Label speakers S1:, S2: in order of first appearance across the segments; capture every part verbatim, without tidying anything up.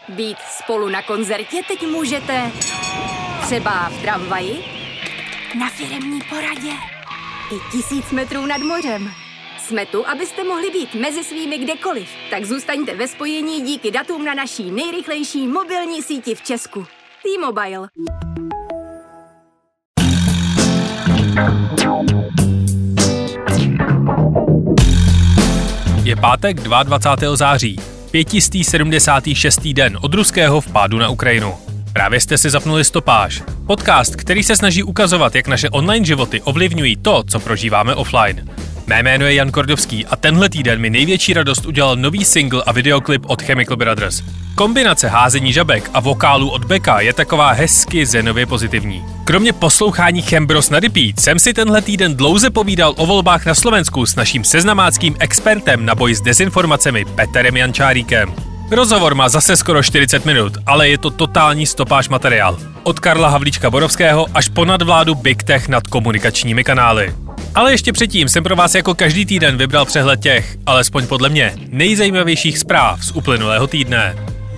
S1: Být spolu na koncertě teď můžete třeba v tramvaji, na firemní poradě i tisíc metrů nad mořem. Jsme tu, abyste mohli být mezi svými kdekoliv. Tak zůstaňte ve spojení díky datům na naší nejrychlejší mobilní síti v Česku. T-Mobile.
S2: Je pátek dvacátého druhého září, pětistý sedmdesátý šestý den od ruského vpádu na Ukrajinu. Právě jste si zapnuli Stopáž, podcast, který se snaží ukazovat, jak naše online životy ovlivňují to, co prožíváme offline. Mé jméno je Jan Kordovský a tenhle týden mi největší radost udělal nový single a videoklip od Chemical Brothers. Kombinace házení žabek a vokálů od Becka je taková hezky zenově pozitivní. Kromě poslouchání Chembros na repeat jsem si tenhle týden dlouze povídal o volbách na Slovensku s naším seznamáckým expertem na boj s dezinformacemi Peterem Jančáríkem. Rozhovor má zase skoro čtyřicet minut, ale je to totální stopáž materiál. Od Karla Havlíčka Borovského až po nadvládu Big Tech nad komunikačními kanály. Ale ještě předtím jsem pro vás jako každý týden vybral přehled těch, alespoň podle mě, nejzajímavějších zpráv z uplynulého týdne.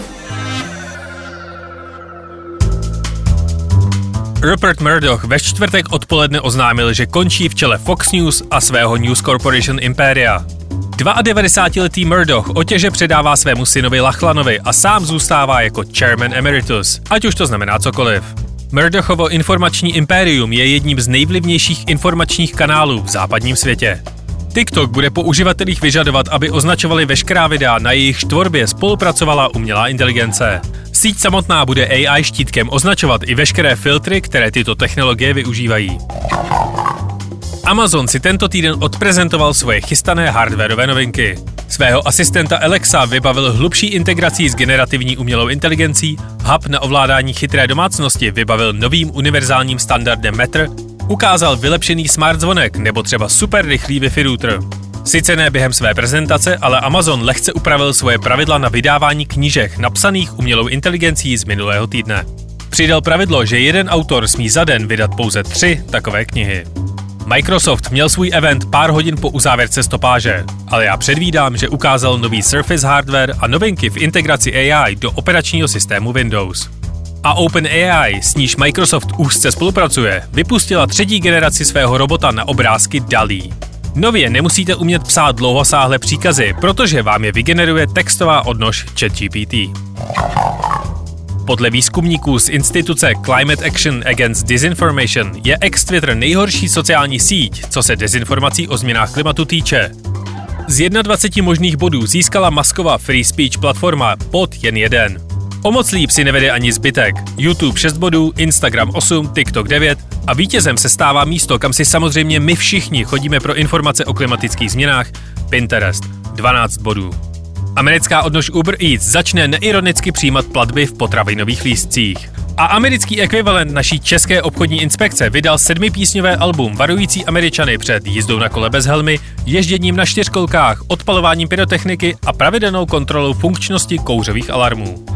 S2: Rupert Murdoch ve čtvrtek odpoledne oznámil, že končí v čele Fox News a svého News Corporation Imperia. devadesátidvouletý Murdoch otěže předává svému synovi Lachlanovi a sám zůstává jako chairman emeritus, ať už to znamená cokoliv. Murdochovo informační impérium je jedním z nejvlivnějších informačních kanálů v západním světě. TikTok bude po uživatelích vyžadovat, aby označovali veškerá videa, na jejich tvorbě spolupracovala umělá inteligence. Síť samotná bude A I štítkem označovat i veškeré filtry, které tyto technologie využívají. Amazon si tento týden odprezentoval svoje chystané hardwareové novinky. Svého asistenta Alexa vybavil hlubší integrací s generativní umělou inteligencí, hub na ovládání chytré domácnosti vybavil novým univerzálním standardem Matter, ukázal vylepšený smart zvonek nebo třeba super rychlý Wi-Fi router. Sice ne během své prezentace, ale Amazon lehce upravil svoje pravidla na vydávání knížek napsaných umělou inteligencí z minulého týdne. Přidal pravidlo, že jeden autor smí za den vydat pouze tři takové knihy. Microsoft měl svůj event pár hodin po uzávěrce stopáže, ale já předvídám, že ukázal nový Surface hardware a novinky v integraci A I do operačního systému Windows. A OpenAI, s níž Microsoft úzce spolupracuje, vypustila třetí generaci svého robota na obrázky DALL-E. Nově nemusíte umět psát dlouhosáhlé příkazy, protože vám je vygeneruje textová odnož ChatGPT. Podle výzkumníků z instituce Climate Action Against Disinformation je ex-Twitter nejhorší sociální síť, co se dezinformací o změnách klimatu týče. Z dvaceti jednoho možných bodů získala Muskova free speech platforma pod jen jeden. O moc líp si nevede ani zbytek. YouTube šest bodů, Instagram osm, TikTok devět a vítězem se stává místo, kam si samozřejmě my všichni chodíme pro informace o klimatických změnách, Pinterest, dvanáct bodů. Americká odnož Uber Eats začne neironicky přijímat platby v potravinových lístcích. A americký ekvivalent naší české obchodní inspekce vydal sedmipísňové album varující Američany před jízdou na kole bez helmy, ježděním na čtyřkolkách, odpalováním pyrotechniky a pravidelnou kontrolou funkčnosti kouřových alarmů.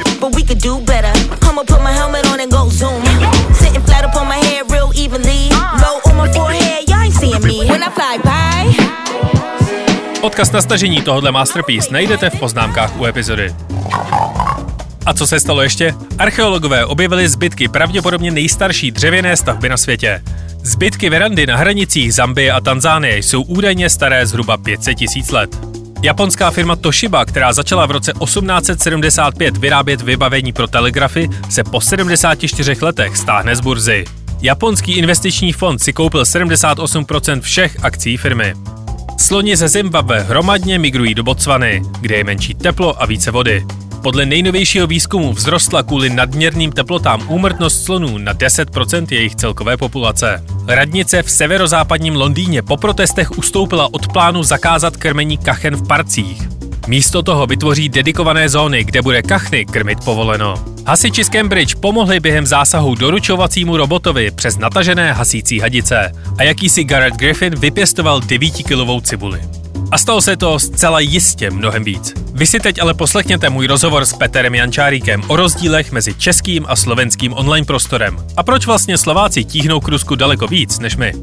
S2: Odkaz na stažení tohohle masterpiece najdete v poznámkách u epizody. A co se stalo ještě? Archeologové objevili zbytky pravděpodobně nejstarší dřevěné stavby na světě. Zbytky verandy na hranicích Zambie a Tanzánie jsou údajně staré zhruba pět set tisíc let. Japonská firma Toshiba, která začala v roce osmnáct set sedmdesát pět vyrábět vybavení pro telegrafy, se po sedmdesáti čtyřech letech stáhne z burzy. Japonský investiční fond si koupil sedmdesát osm procent všech akcií firmy. Sloni ze Zimbabwe hromadně migrují do Botswany, kde je menší teplo a více vody. Podle nejnovějšího výzkumu vzrostla kvůli nadměrným teplotám úmrtnost slonů na deset procent jejich celkové populace. Radnice v severozápadním Londýně po protestech ustoupila od plánu zakázat krmení kachen v parcích. Místo toho vytvoří dedikované zóny, kde bude kachny krmit povoleno. Hasiči z Cambridge pomohli během zásahu doručovacímu robotovi přes natažené hasící hadice a jakýsi Garrett Griffin vypěstoval devítikilovou cibuli. A stalo se to zcela jistě mnohem víc. Vy si teď ale poslechněte můj rozhovor s Peterem Jančáríkem o rozdílech mezi českým a slovenským online prostorem a proč vlastně Slováci tíhnou k Rusku daleko víc než my.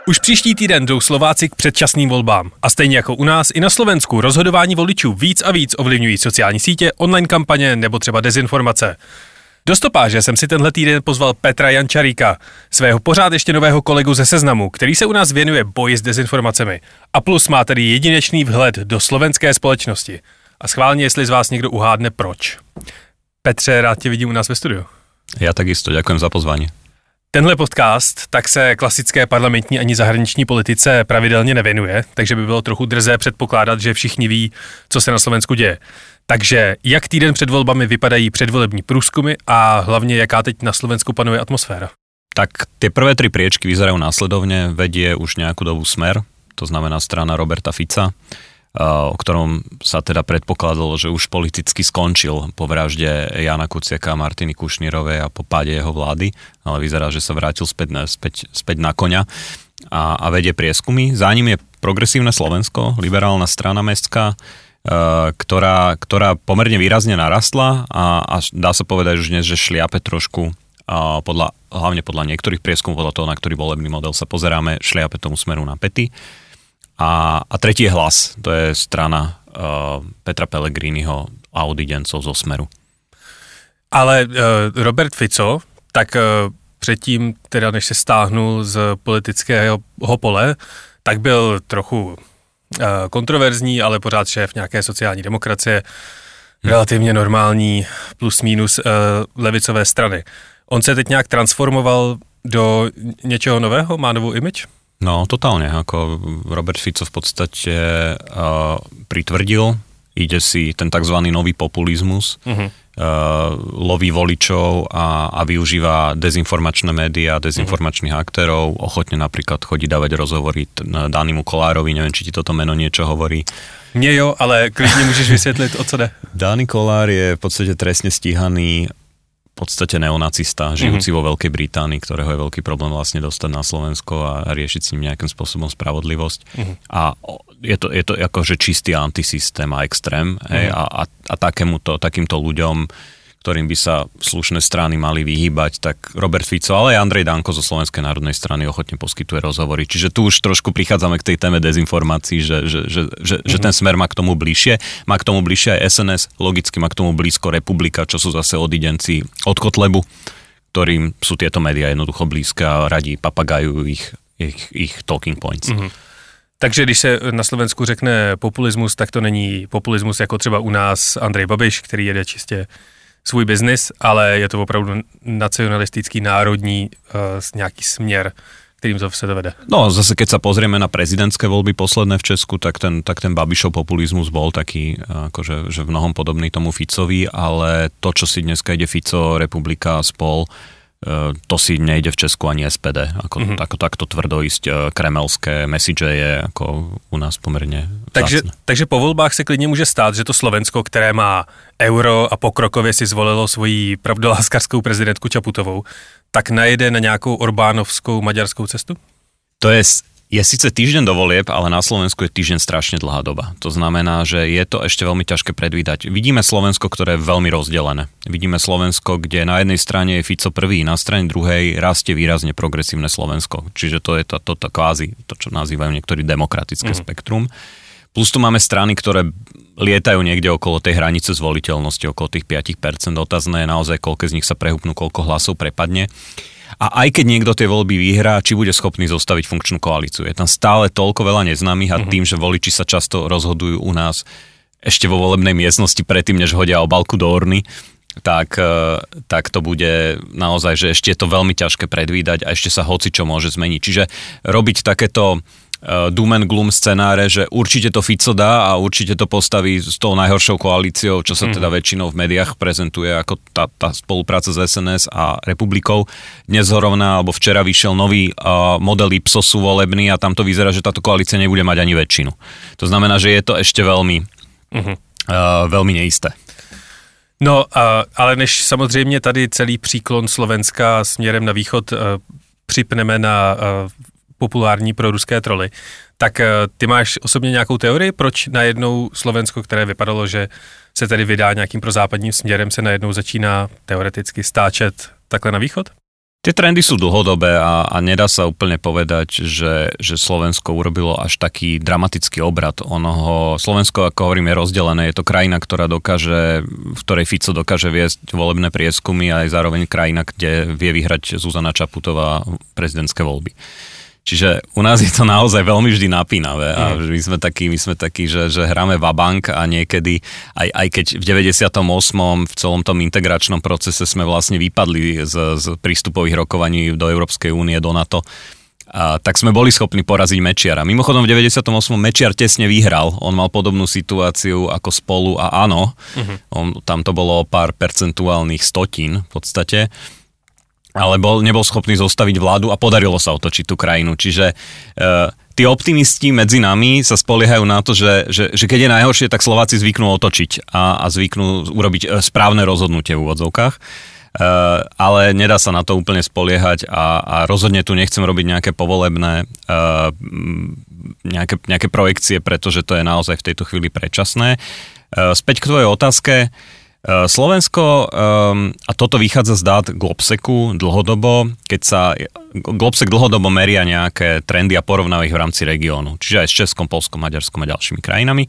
S2: Už příští týden jdou Slováci k předčasným volbám. A stejně jako u nás, i na Slovensku rozhodování voličů víc a víc ovlivňují sociální sítě, online kampaně nebo třeba dezinformace. Do stopáže jsem si tenhle týden pozval Petra Jančaríka, svého pořád ještě nového kolegu ze Seznamu, který se u nás věnuje boji s dezinformacemi. A plus má tedy jedinečný vhled do slovenské společnosti. A schválně, jestli z vás někdo uhádne proč. Petře, rád tě vidím u nás ve studiu.
S3: Já takisto, ďakujem za pozvání.
S2: Tenhle podcast tak se klasické parlamentní ani zahraniční politice pravidelně nevěnuje, takže by bylo trochu drzé předpokládat, že všichni ví, co se na Slovensku děje. Takže jak týden před volbami vypadají předvolební průzkumy a hlavně jaká teď na Slovensku panuje atmosféra?
S3: Tak tie prvé tri priečky vyzerajú následovne, vedie už nejakú dobu Smer, to znamená strana Roberta Fica, o ktorom sa teda predpokladalo, že už politicky skončil po vražde Jana Kuciaka a Martiny Kušnírovej a po páde jeho vlády, ale vyzerá, že sa vrátil späť, späť, späť na koňa a, a vedie prieskumy. Za ním je Progresívne Slovensko, liberálna strana mestská, ktorá, ktorá pomerne výrazne narastla a, a dá sa povedať už dnes, že šliape trošku, a podľa, hlavne podľa niektorých prieskumov, podľa toho, na ktorý volebný model sa pozeráme, šliape tomu Smeru na päty. A, a tretí je Hlas, to je strana uh, Petra Pellegriniho a odidencov zo Smeru.
S2: Ale uh, Robert Fico, tak uh, předtím, teda než se stáhnul z politického pole, tak byl trochu uh, kontroverzní, ale pořád šéf nějaké sociální demokracie, hmm. relativně normální plus minus uh, levicové strany. On se teď nějak transformoval do něčeho nového? Má novou image?
S3: No, totálne, ako Robert Fico v podstate uh, pritvrdil, ide si ten takzvaný nový populizmus, uh-huh. uh, loví voličov a, a využíva dezinformačné médiá, dezinformačných uh-huh. aktérov, ochotne napríklad chodí dávať rozhovory Danimu Kolárovi, neviem, či ti toto meno niečo hovorí.
S2: Nie jo, ale klidne môžeš vysvetliť, o co jde.
S3: Dani Kolár je v podstate trestne stíhaný v podstate neonacista, žijúci mm-hmm. vo Veľkej Británii, ktorého je veľký problém vlastne dostať na Slovensko a riešiť s ním nejakým spôsobom spravodlivosť. Mm-hmm. A je to, je to akože čistý antisystém a extrém. Mm-hmm. Hej, a, a, a takémuto, takýmto ľuďom, ktorým by sa slušné strany mali vyhýbať, tak Robert Fico, ale aj Andrej Danko zo Slovenskej národnej strany ochotne poskytuje rozhovory. Čiže tu už trošku prichádzame k tej téme dezinformácií, že, že, že, že, mm-hmm. že ten Smer má k tomu bližšie. Má k tomu bližšie aj es en es, logicky má k tomu blízko Republika, čo sú zase odidenci od Kotlebu, ktorým sú tieto médiá jednoducho blízke a radí papagajujú ich, ich, ich talking points. Mm-hmm.
S2: Takže když se na Slovensku řekne populismus, tak to není populismus jako třeba u nás Andrej Babiš, který jede čistě svůj biznis, ale je to opravdu nacionalistický, národní uh, nějaký směr, kterým to se dovede.
S3: No zase keď sa pozrieme na prezidentské voľby posledné v Česku, tak ten, tak ten Babišov populizmus bol taký, akože, že v mnohom podobný tomu Ficovi, ale to, čo si dneska ide Fico, Republika, Spol, to si nejde v Česku ani es pé dé. Ako, mm-hmm. ako takto tvrdo ísť kremelské message je ako u nás pomerne
S2: takže, takže po volbách se klidně může stát, že to Slovensko, které má euro a pokrokově si zvolilo svoji pravdoláskarskou prezidentku Čaputovou, tak najede na nějakou Orbánovskou maďarskou cestu?
S3: To je... Je síce týždeň do volieb, ale na Slovensku je týždeň strašne dlhá doba. To znamená, že je to ešte veľmi ťažké predvídať. Vidíme Slovensko, ktoré je veľmi rozdelené. Vidíme Slovensko, kde na jednej strane je Fico prvý, na strane druhej rastie výrazne progresívne Slovensko. Čiže to je to, to, to kvázi, to čo nazývajú niektorí demokratické mm. spektrum. Plus tu máme strany, ktoré lietajú niekde okolo tej hranice zvoliteľnosti, okolo tých päť percent. Otázne je naozaj, koľko z nich sa prehúpnú, koľko hlasov prepadne. A aj keď niekto tie voľby vyhrá, či bude schopný zostaviť funkčnú koalíciu. Je tam stále toľko veľa neznámych a tým, že voliči sa často rozhodujú u nás ešte vo volebnej miestnosti predtým, než hodia obálku do urny, tak, tak to bude naozaj, že ešte je to veľmi ťažké predvídať a ešte sa hocičo môže zmeniť. Čiže robiť takéto doom and gloom scenáre, že určite to Fico dá a určite to postaví s tou najhoršou koalíciou, čo sa teda väčšinou v médiách prezentuje ako tá, tá spolupráca s es en es a Republikou. Dnes zrovna, alebo včera vyšiel nový uh, model Ipsosu volebný a tam to vyzerá, že táto koalícia nebude mať ani väčšinu. To znamená, že je to ešte veľmi, uh-huh. uh, veľmi neisté.
S2: No, uh, ale než samozřejmě tady celý příklon Slovenska směrem na východ uh, připneme na uh, populární proruské troly, tak ty máš osobně nějakou teorii, proč najednou Slovensko, které vypadalo, že se tedy vydá nějakým prozápadním směrem, se najednou začíná teoreticky stáčet takhle na východ?
S3: Tie trendy sú dlhodobé a, a nedá sa úplne povedať, že, že Slovensko urobilo až taký dramatický obrat. Onoho, Slovensko, ako hovorím, je rozdelené. Je to krajina, ktorá dokáže, v ktorej Fico dokáže viesť volebné prieskumy a aj zároveň krajina, kde vie vyhrať Zuzana Čaputová prezidentské voľby. Čiže u nás je to naozaj veľmi vždy napínavé a my sme takí, my sme takí, že, že hráme vabank a niekedy, aj, aj keď v deväťdesiatom ôsmom v celom tom integračnom procese sme vlastne vypadli z, z prístupových rokovaní do Európskej únie, do NATO, a tak sme boli schopní poraziť Mečiara. Mimochodom v deväťdesiatom ôsmom Mečiar tesne vyhral, on mal podobnú situáciu ako Spolu a Áno, uh-huh. on, tam to bolo o pár percentuálnych stotín v podstate, ale bol, nebol schopný zostaviť vládu a podarilo sa otočiť tú krajinu. Čiže e, tí optimisti medzi nami sa spoliehajú na to, že, že, že keď je najhoršie, tak Slováci zvyknú otočiť a, a zvyknú urobiť správne rozhodnutie v úvodzovkách. E, ale nedá sa na to úplne spoliehať a, a rozhodne tu nechcem robiť nejaké povolebné e, nejaké, nejaké projekcie, pretože to je naozaj v tejto chvíli predčasné. E, späť k tvojej otázke. Slovensko, um, a toto vychádza z dát Globseku dlhodobo, keď sa Globsek dlhodobo meria nejaké trendy a porovnáva ich v rámci regiónu, čiže aj s Českom, Poľskom, Maďarskom a ďalšími krajinami.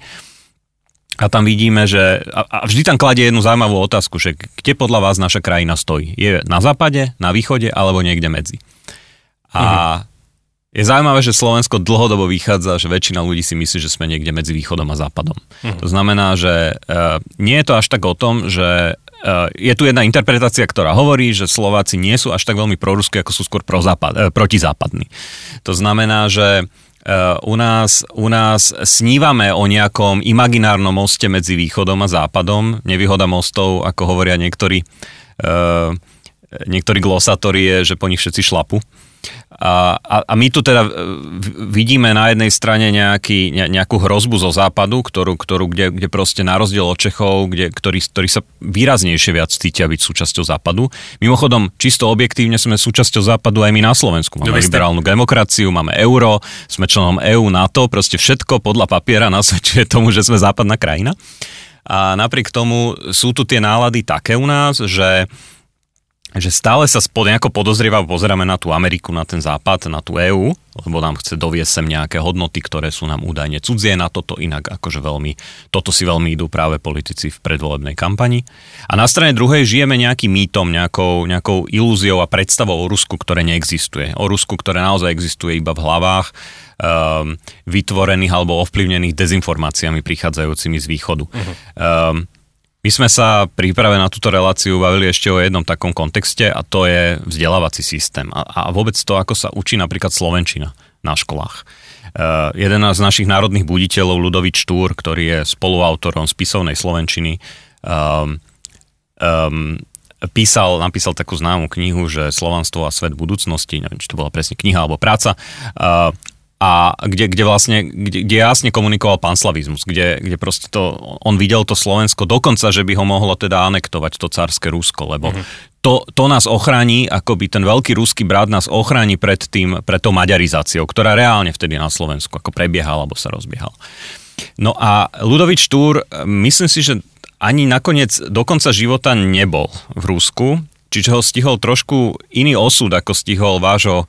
S3: A tam vidíme, že a, a vždy tam kladie jednu zaujímavú otázku, že kde podľa vás naša krajina stojí? Je na západe, na východe alebo niekde medzi? A mhm. je zaujímavé, že Slovensko dlhodobo vychádza, že väčšina ľudí si myslí, že sme niekde medzi východom a západom. Mhm. To znamená, že uh, nie je to až tak o tom, že uh, je tu jedna interpretácia, ktorá hovorí, že Slováci nie sú až tak veľmi proruskí, ako sú skôr prozápad, uh, protizápadní. To znamená, že uh, u, nás, u nás snívame o nejakom imaginárnom moste medzi východom a západom. Nevýhoda mostov, ako hovoria niektorí, uh, niektorí glosatóri, je, že po nich všetci šlapu. A, a, a my tu teda vidíme na jednej strane nejaký, ne, nejakú hrozbu zo západu, ktorú, ktorú kde, kde proste na rozdiel od Čechov, kde, ktorí, ktorí sa výraznejšie viac cítia byť súčasťou západu. Mimochodom, čisto objektívne sme súčasťou západu aj my na Slovensku. Máme liberálnu demokraciu, máme euro, sme členom é ú, NATO, proste všetko podľa papiera nasvedčuje tomu, že sme západná krajina. A napriek tomu sú tu tie nálady také u nás, že že stále sa spod nejako podozrievavo pozeráme na tú Ameriku, na ten západ, na tú é ú, lebo nám chce doviesť sem nejaké hodnoty, ktoré sú nám údajne cudzie, na toto inak akože veľmi, toto si veľmi idú práve politici v predvolebnej kampani. A na strane druhej žijeme nejakým mýtom, nejakou, nejakou ilúziou a predstavou o Rusku, ktoré neexistuje. O Rusku, ktoré naozaj existuje iba v hlavách um, vytvorených alebo ovplyvnených dezinformáciami prichádzajúcimi z východu. Uh-huh. Um, My sme sa príprave na túto reláciu bavili ešte o jednom takom kontexte a to je vzdelávací systém a, a vôbec to, ako sa učí napríklad slovenčina na školách. Uh, jeden z našich národných buditeľov, Ľudovít Štúr, ktorý je spoluautorom spisovnej slovenčiny, um, um, písal, napísal takú známú knihu, že Slovanstvo a svet budúcnosti, neviem, či to bola presne kniha alebo práca, uh, a kde, kde vlastne, kde, kde jasne komunikoval panslavizmus, kde, kde proste to, on videl to Slovensko dokonca, že by ho mohlo teda anektovať to cárske Rusko, lebo mm-hmm. to, to nás ochráni, akoby ten veľký ruský brat nás ochráni pred tým, pred tou maďarizáciou, ktorá reálne vtedy na Slovensku ako prebiehala alebo sa rozbiehal. No a Ľudovít Štúr, myslím si, že ani nakoniec do konca života nebol v Rusku, čiže ho stihol trošku iný osud, ako stihol vášho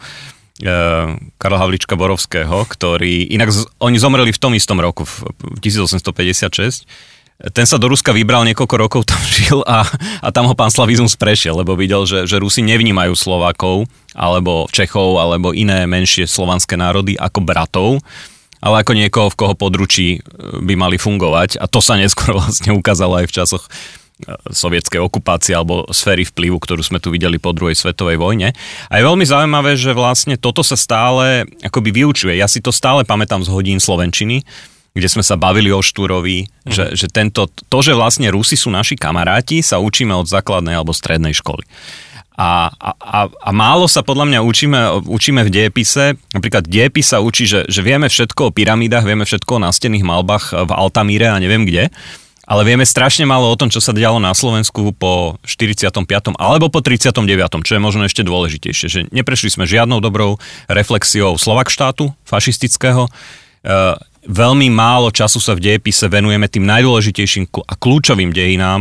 S3: Karla Havlíčka Borovského, ktorý, inak z, oni zomreli v tom istom roku, v tisícosemstopäťdesiatšesť. Ten sa do Ruska vybral, niekoľko rokov tam žil a, a tam ho panslavizmus prešiel, lebo videl, že, že Rusi nevnímajú Slovákov, alebo Čechov, alebo iné menšie slovanské národy ako bratov, ale ako niekoho, v koho područí by mali fungovať. A to sa neskôr vlastne ukázalo aj v časoch sovietskej okupácie alebo sféry vplyvu, ktorú sme tu videli po druhej svetovej vojne. A je veľmi zaujímavé, že vlastne toto sa stále akoby vyučuje. Ja si to stále pamätám z hodín slovenčiny, kde sme sa bavili o Štúrovi, mm. že, že tento, to, že vlastne Rusi sú naši kamaráti, sa učíme od základnej alebo strednej školy. A, a, a málo sa podľa mňa učíme, učíme v dejepise. Napríklad dejepis sa učí, že, že vieme všetko o pyramídach, vieme všetko o nástenných malbách v Altamíre a neviem kde. Ale vieme strašne málo o tom, čo sa dialo na Slovensku po štyridsiatom piatom alebo po tridsiatom deviatom, čo je možno ešte dôležitejšie, že neprešli sme žiadnou dobrou reflexiou Slovakštátu fašistického. E, veľmi málo času sa v dejepise venujeme tým najdôležitejším a kľúčovým dejinám,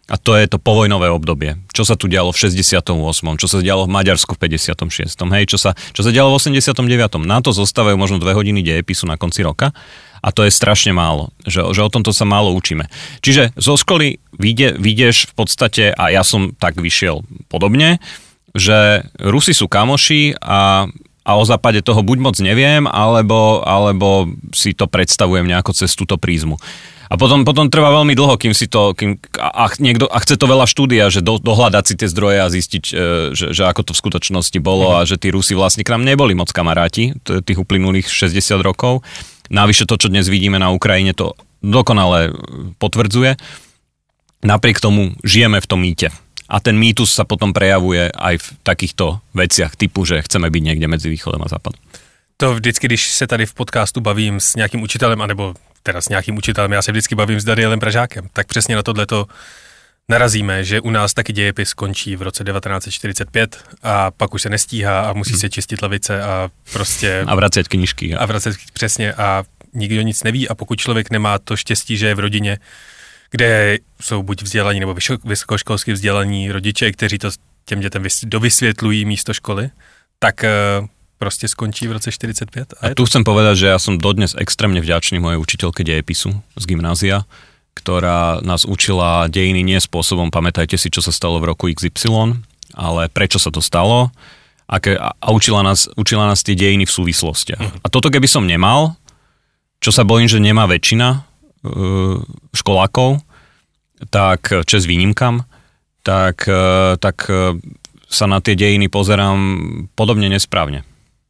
S3: A to je to povojnové obdobie. Čo sa tu dialo v šesťdesiatom ôsmom, čo sa dialo v Maďarsku v päťdesiatom šiestom, hej, čo sa, čo sa dialo v osemdesiatom deviatom. Na to zostávajú možno dve hodiny dejepisu na konci roka a to je strašne málo, že, že o tomto sa málo učíme. Čiže zo školy vyjde, vyjdeš v podstate, a ja som tak vyšiel podobne, že Rusi sú kamoši a a o západe toho buď moc neviem, alebo, alebo si to predstavujem nejako cez túto prízmu. A potom, potom trvá veľmi dlho, kým si to, kým, a, niekto, a chce to veľa štúdia, že do, dohľadať si tie zdroje a zistiť, že, že ako to v skutočnosti bolo a že tí Rusi vlastne k nám neboli moc kamaráti tých uplynulých šesťdesiat rokov. Navyše to, čo dnes vidíme na Ukrajine, to dokonale potvrdzuje. Napriek tomu žijeme v tom mýte. A ten mýtus sa potom prejavuje aj v takýchto veciach typu, že chceme byť niekde medzi východem a západem.
S2: To vždycky, když se tady v podcastu bavím s nějakým učitelem, anebo teda s nějakým učitelem, já se vždycky bavím s Danielem Pražákem, tak přesně na tohleto narazíme, že u nás taky dějepis skončí v roce devätnásť čtyřicet pět a pak už se nestíhá a musí hmm. se čistit lavice a prostě...
S3: A vracet knížky.
S2: A vracet přesně a nikdo nic neví a pokud člověk nemá to štěstí, že je v rodině, kde jsou buď vzdělaní nebo vysokoškolsky vzdělaní rodiče, kteří to těm dětem dovysvětlují místo školy, tak prostě skončí v roce štyridsať päť.
S3: A, a tu to... chcem povedať, že ja som dodnes extrémne vďačný mojej učiteľke dejepisu z gymnázia, ktorá nás učila dejiny nie spôsobom, pamätajte si, čo sa stalo v roku iks ypsilon, ale prečo sa to stalo aké, a, a učila, nás, učila nás tie dejiny v súvislostiach. Uh-huh. A toto keby som nemal, čo sa bojím, že nemá väčšina školákov, tak čes výnimkám, tak, tak sa na tie dejiny pozerám podobne nesprávne.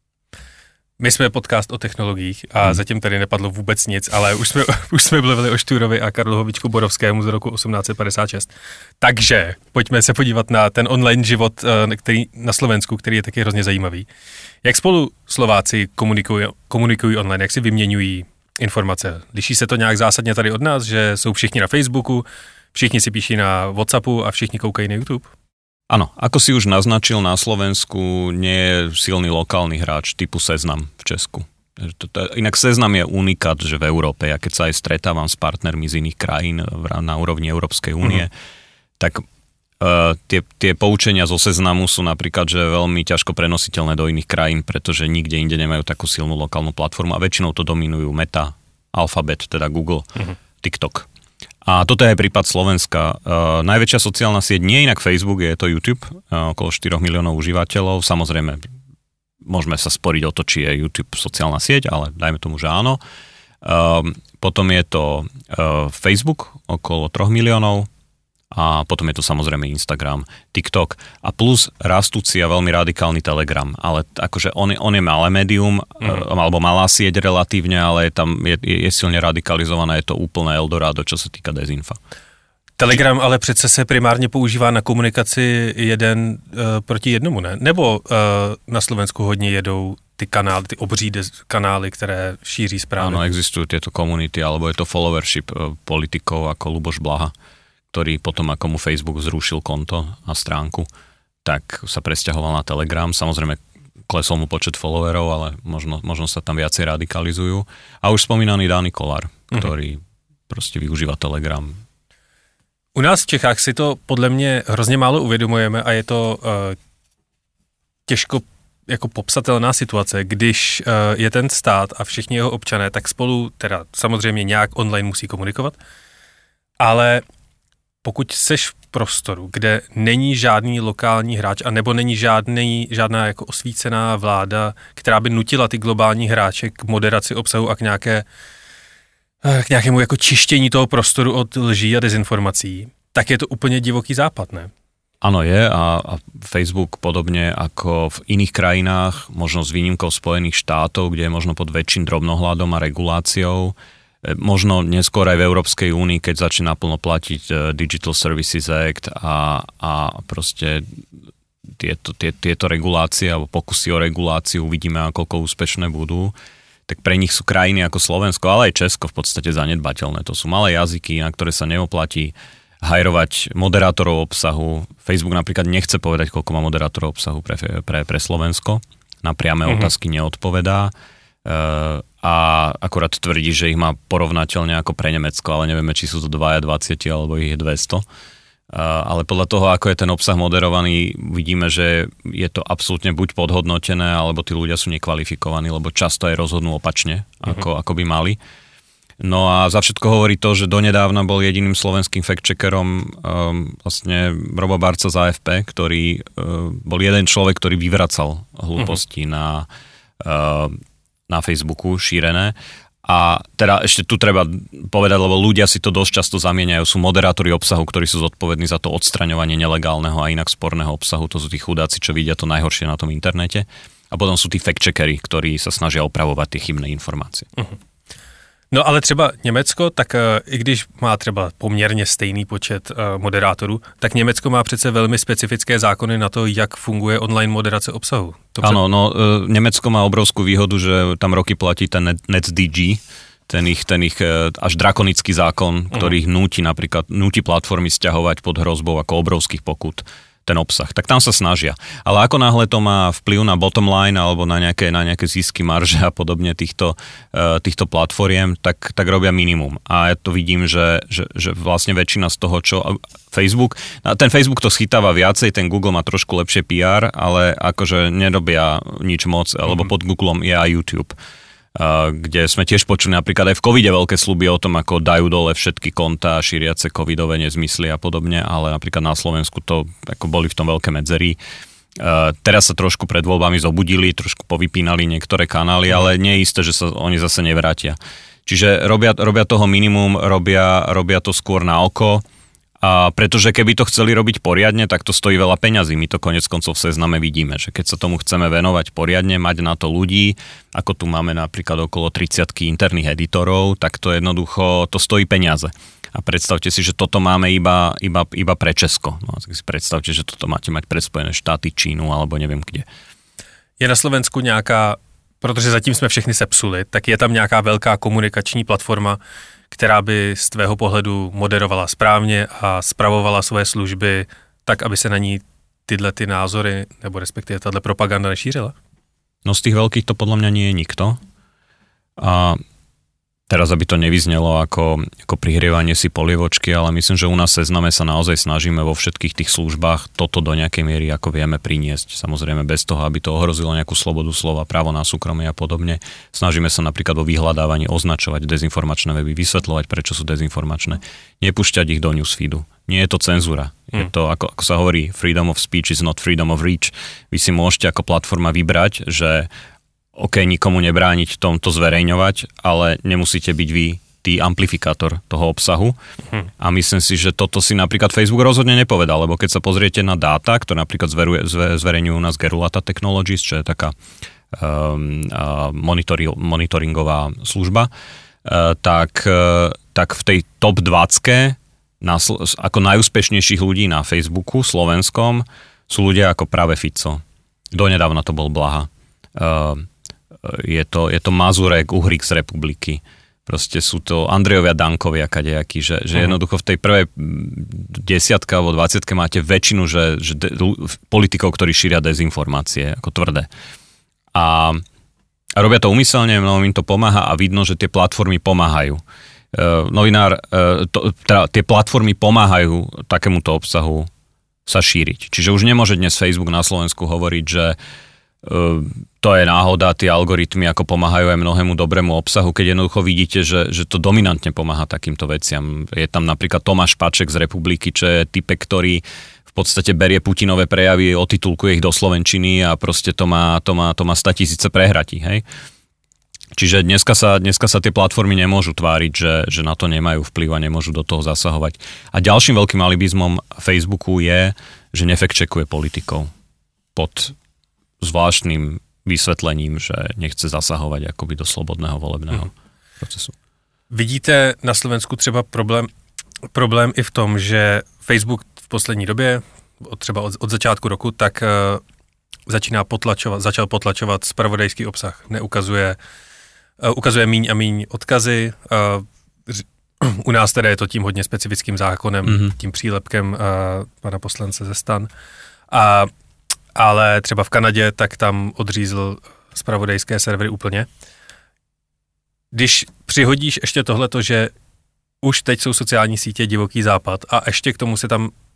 S2: My jsme podcast o technologiích a hmm. zatím tady nepadlo vůbec nic, ale už jsme, už jsme mluvili o Štúrovi a Karlohovičku Borovskému z roku osmnáct set padesát šest. Takže pojďme se podívat na ten online život který, na Slovensku, který je taky hrozně zajímavý. Jak spolu Slováci komunikují, komunikují online, jak si vyměňují informace? Liší se to nějak zásadně tady od nás, že jsou všichni na Facebooku, všichni si píší na WhatsAppu a všichni koukají na YouTube?
S3: Áno, ako si už naznačil, na Slovensku nie je silný lokálny hráč typu Seznam v Česku. Inak Seznam je unikát, že v Európe, ja keď sa aj stretávam s partnermi z iných krajín na úrovni Európskej únie, mm-hmm. tak uh, tie, tie poučenia zo Seznamu sú napríklad, že veľmi ťažko prenositeľné do iných krajín, pretože nikde inde nemajú takú silnú lokálnu platformu a väčšinou to dominujú Meta, Alphabet, teda Google, mm-hmm. TikTok. A toto je aj prípad Slovenska. Uh, najväčšia sociálna sieť nie je inak Facebook, je to YouTube, uh, okolo štyri miliónov užívateľov. Samozrejme, môžeme sa sporiť o to, či je YouTube sociálna sieť, ale dajme tomu, že áno. Uh, potom je to uh, Facebook, okolo tri miliónov. A potom je to samozrejme Instagram, TikTok a plus rastúci a veľmi radikálny Telegram. Ale akože on je, on je malé médium, mm. alebo malá sieť relatívne, ale je tam je, je silne radikalizovaná, je to úplné Eldorado, čo sa týka dezinfa.
S2: Telegram ale přece se primárně používá na komunikaci jeden uh, proti jednomu, ne? Nebo uh, na Slovensku hodně jedou ty kanály, ty obří des- kanály, které šíří správy?
S3: Áno, existujú tieto komunity, alebo je to followership uh, politikov ako Luboš Blaha, ktorý potom, ako mu Facebook zrušil konto a stránku, tak sa presťahoval na Telegram. Samozrejme, klesol mu počet followerov, ale možno, možno sa tam viacej radikalizujú. A už spomínaný Dani Kollár, ktorý mm-hmm. proste využíva Telegram.
S2: U nás v Čechách si to podle mě hrozně málo uvědomujeme a je to uh, těžko jako popsatelná situace, když uh, je ten stát a všichni jeho občané, tak spolu teda samozřejmě nějak online musí komunikovat, ale pokud seš v prostoru, kde není žádný lokální hráč a nebo není žádný, žádná jako osvícená vláda, která by nutila ty globální hráče k moderaci obsahu a k, nějaké, k nějakému jako čištění toho prostoru od lží a dezinformací, tak je to úplně divoký západ, ne?
S3: Áno, je a, a Facebook podobne ako v iných krajinách, možno s výnimkou Spojených štátov, kde je možno pod väčším drobnohľadom a reguláciou, možno neskôr aj v Európskej únii, keď začne naplno platiť Digital Services Act a, a proste tieto, tie, tieto regulácie alebo pokusy o reguláciu uvidíme, koľko úspešné budú, tak pre nich sú krajiny ako Slovensko, ale aj Česko v podstate zanedbateľné. To sú malé jazyky, na ktoré sa neoplatí hajrovať moderátorov obsahu. Facebook napríklad nechce povedať, koľko má moderátorov obsahu pre, pre, pre Slovensko. Na priame mm-hmm. otázky neodpovedá. Uh, a akurát tvrdí, že ich má porovnateľne ako pre Nemecko, ale nevieme, či sú to dvaja dvadsať alebo ich je dvesto. ale podľa toho, ako je ten obsah moderovaný, vidíme, že je to absolútne buď podhodnotené, alebo tí ľudia sú nekvalifikovaní, lebo často aj rozhodnú opačne, ako, uh-huh. ako by mali. No a za všetko hovorí to, že donedávna bol jediným slovenským fact-checkerom um, vlastne Robo Barca z á ef pé, ktorý uh, bol jeden človek, ktorý vyvracal hlúposti uh-huh. na, uh, na Facebooku šírené. A teda ešte tu treba povedať, lebo ľudia si to dosť často zamieňajú, sú moderátori obsahu, ktorí sú zodpovední za to odstraňovanie nelegálneho a inak sporného obsahu, to sú tí chudáci, čo vidia to najhoršie na tom internete. A potom sú tí fact-checkery, ktorí sa snažia opravovať tie chybné informácie. Uh-huh.
S2: No ale třeba Německo, tak i když má třeba poměrně stejný počet moderátorů, tak Německo má přece velmi specifické zákony na to, jak funguje online moderace obsahu.
S3: Áno, před... no Německo má obrovskú výhodu, že tam roky platí ten NetzDG, ten ich, ten ich až drakonický zákon, ktorý uh-huh. núti napríklad, núti platformy sťahovať pod hrozbou ako obrovských pokut ten obsah. Tak tam sa snažia. Ale ako náhle to má vplyv na bottom line alebo na nejaké, na nejaké zisky, marže a podobne týchto, týchto platformiem, tak, tak robia minimum. A ja to vidím, že, že, že vlastne väčšina z toho, čo Facebook, ten Facebook to schytáva viacej, ten Google má trošku lepšie pé er, ale akože nerobia nič moc, lebo pod Googlom je aj YouTube, kde sme tiež počuli napríklad aj v covide veľké sľuby o tom, ako dajú dole všetky kontá šíriace covidové nezmysly a podobne, ale napríklad na Slovensku to ako boli v tom veľké medzery. Teraz sa trošku pred voľbami zobudili, trošku povypínali niektoré kanály, ale nie je isté, že sa oni zase nevrátia. Čiže robia, robia toho minimum, robia, robia to skôr na oko. A pretože keby to chceli robiť poriadne, tak to stojí veľa peňazí. My to konec koncov v Sezname vidíme, že keď sa tomu chceme venovať poriadne, mať na to ľudí, ako tu máme napríklad okolo tridsiatky interných editorov, tak to jednoducho, to stojí peniaze. A predstavte si, že toto máme iba, iba, iba pre Česko. No, tak si predstavte, že toto máte mať pre Spojené štáty, Čínu alebo neviem kde.
S2: Je na Slovensku nějaká, protože zatím jsme všechny sepsuli, tak je tam nějaká velká komunikační platforma, která by z tvého pohledu moderovala správně a spravovala svoje služby tak, aby se na ní tyhle ty názory, nebo respektive tato propaganda nešířila?
S3: No z tých veľkých to podľa mňa nie je nikto. A teraz, aby to nevyznelo ako, ako prihrievanie si polievočky, ale myslím, že u nás v Sezname sa naozaj snažíme vo všetkých tých službách toto do nejakej miery ako vieme priniesť. Samozrejme bez toho, aby to ohrozilo nejakú slobodu slova, právo na súkromie a podobne. Snažíme sa napríklad vo vyhľadávaní označovať dezinformačné weby, vysvetľovať, prečo sú dezinformačné, nepúšťať ich do newsfeedu. Nie je to cenzúra. Je to, ako, ako sa hovorí, freedom of speech is not freedom of reach. Vy si môžete ako platforma vybrať, že OK, nikomu nebrániť tomto zverejňovať, ale nemusíte byť vy tý amplifikátor toho obsahu. Hm. A myslím si, že toto si napríklad Facebook rozhodne nepovedal, lebo keď sa pozriete na dáta, ktoré napríklad zveruje, zverejňujú u nás Gerulata Technologies, čo je taká um, uh, monitori, monitoringová služba, uh, tak, uh, tak v tej top dvadsať ako najúspešnejších ľudí na Facebooku slovenskom sú ľudia ako práve Fico. Donedávna to bol Blaha. Uh, Je to, je to Mazurek, Uhrík z Republiky. Proste sú to Andrejovia Dankovia kadejakí, že, že uh-huh. jednoducho v tej prvej desiatke alebo dvadsiatke máte väčšinu že, že de, politikov, ktorí šíria dezinformácie, ako tvrdé. A, a robia to úmyselne, mnohom im to pomáha a vidno, že tie platformy pomáhajú. Uh, novinár, uh, to, teda, tie platformy pomáhajú takémuto obsahu sa šíriť. Čiže už nemôže dnes Facebook na Slovensku hovoriť, že uh, to je náhoda, tie algoritmy ako pomáhajú aj mnohému dobrému obsahu, keď jednoducho vidíte, že, že to dominantne pomáha takýmto veciam. Je tam napríklad Tomáš Paček z Republiky, čo je typek, ktorý v podstate berie Putinové prejavy, otitulkuje ich do slovenčiny a proste to má, to má, to má stotisíce prehratí, hej? Čiže dneska sa, dneska sa tie platformy nemôžu tváriť, že, že na to nemajú vplyv a nemôžu do toho zasahovať. A ďalším veľkým alibizmom Facebooku je, že nefektčekuje politikov pod zvláštnym vysvetlením, že nechce zasahovať akoby do slobodného volebného hmm. procesu.
S2: Vidíte na Slovensku třeba problém, problém i v tom, že Facebook v poslední době, třeba od, od začátku roku, tak uh, začíná potlačovat, začal potlačovat zpravodajský obsah. Neukazuje, uh, ukazuje míň a míň odkazy. Uh, u nás teda je to tím hodně specifickým zákonem, mm-hmm. tím přílepkem uh, pana poslance ze Stan. A ale třeba v Kanadě, tak tam odřízl zpravodajské servery úplně. Když přihodíš ještě tohleto, že už teď jsou sociální sítě divoký západ a ještě k tomu se tam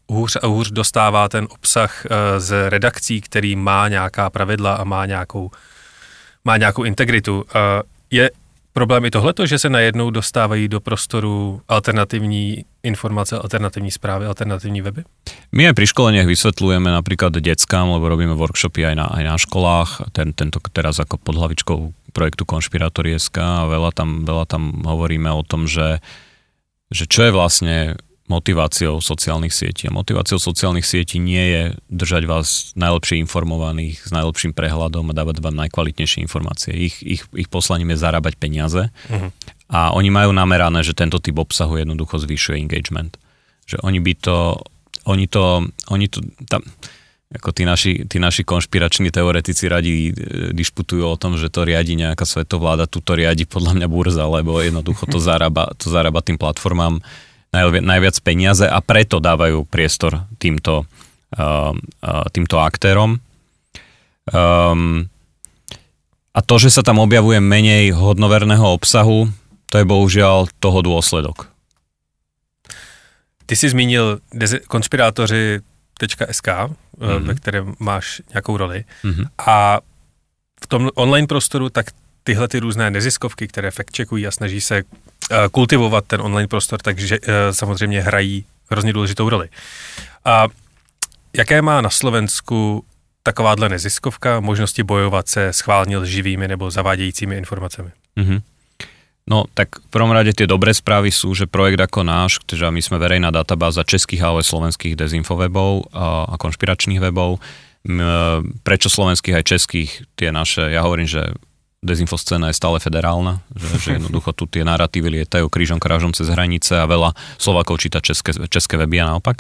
S2: hůř a hůř dostává ten obsah z redakcí, který má nějaká pravidla a má nějakou, má nějakou integritu. Je problém i tohleto, že se najednou dostávají do prostoru alternativní informace, alternativní správy, alternativní weby?
S3: My aj pri školeniach vysvetľujeme napríklad deckám, lebo robíme workshopy aj na, aj na školách, ten, tento teraz ako pod hlavičkou projektu Konšpirátori bodka es ká a veľa tam, veľa tam hovoríme o tom, že, že čo je vlastne motiváciou sociálnych sietí. A motiváciou sociálnych sietí nie je držať vás najlepšie informovaných s najlepším prehľadom a dávať vám najkvalitnejšie informácie. Ich, ich, ich poslaním je zarábať peniaze uh-huh. a oni majú namerané, že tento typ obsahu jednoducho zvyšuje engagement. Že oni by to, oni to, oni to, tam, ako tí naši, tí naši konšpirační teoretici radi dišputujú o tom, že to riadi nejaká svetovláda, tu to riadi podľa mňa burza, lebo jednoducho to zarába, to zarába tým platformám najviac peniaze a preto dávajú priestor týmto, uh, uh, týmto aktérom. Um, a to, že sa tam objavuje menej hodnoverného obsahu, to je bohužiaľ toho dôsledok.
S2: Ty jsi zmínil konšpirátoři tečka es ká, mm-hmm. ve kterém máš nějakou roli. Mm-hmm. A v tom online prostoru tak tyhle ty různé neziskovky, které fact-checkují a snaží se kultivovat ten online prostor, takže samozřejmě hrají hrozně důležitou roli. A jaké má na Slovensku takováhle neziskovka možnosti bojovat se schválně lživými nebo zavádějícími informacemi?
S3: Mm-hmm. No, tak v prvom rade tie dobré správy sú, že projekt ako náš, že my sme verejná databáza českých, ale slovenských dezinfowebov a, a konšpiračných webov, prečo slovenských aj českých, tie naše, ja hovorím, že dezinfoscéna je stále federálna, že, že jednoducho tu tie narratívy lietajú krížom krážom cez hranice a veľa Slovákov číta české, české weby a naopak.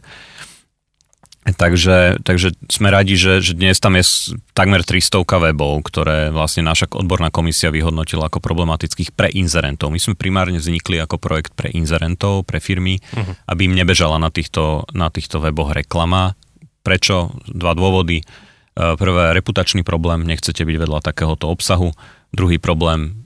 S3: Takže, takže sme radi, že, že dnes tam je takmer trystovka webov, ktoré vlastne naša odborná komisia vyhodnotila ako problematických pre inzerentov. My sme primárne vznikli ako projekt pre inzerentov, pre firmy, uh-huh. aby im nebežala na týchto, na týchto weboch reklama. Prečo? Dva dôvody. Prvé, reputačný problém, nechcete byť vedľa takéhoto obsahu. Druhý problém,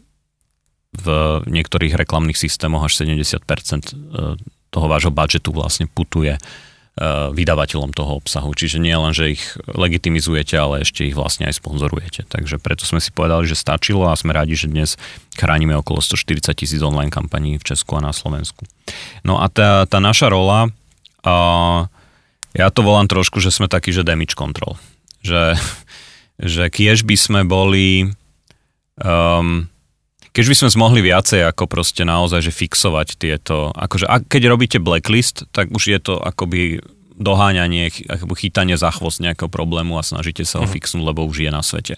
S3: v niektorých reklamných systémoch až sedemdesiat percent toho vášho budžetu vlastne putuje vydavateľom toho obsahu. Čiže nie len, že ich legitimizujete, ale ešte ich vlastne aj sponzorujete. Takže preto sme si povedali, že stačilo a sme radi, že dnes chránime okolo stoštyridsať tisíc online kampaní v Česku a na Slovensku. No a tá, tá naša rola, a ja to volám trošku, že sme takí, že damage control. Že, že kiež by sme boli um, keď by sme zmohli viacej ako proste naozaj, že fixovať tieto, akože a keď robíte blacklist, tak už je to akoby doháňanie, akoby chytanie za chvost nejakého problému a snažíte sa ho fixnúť, lebo už je na svete.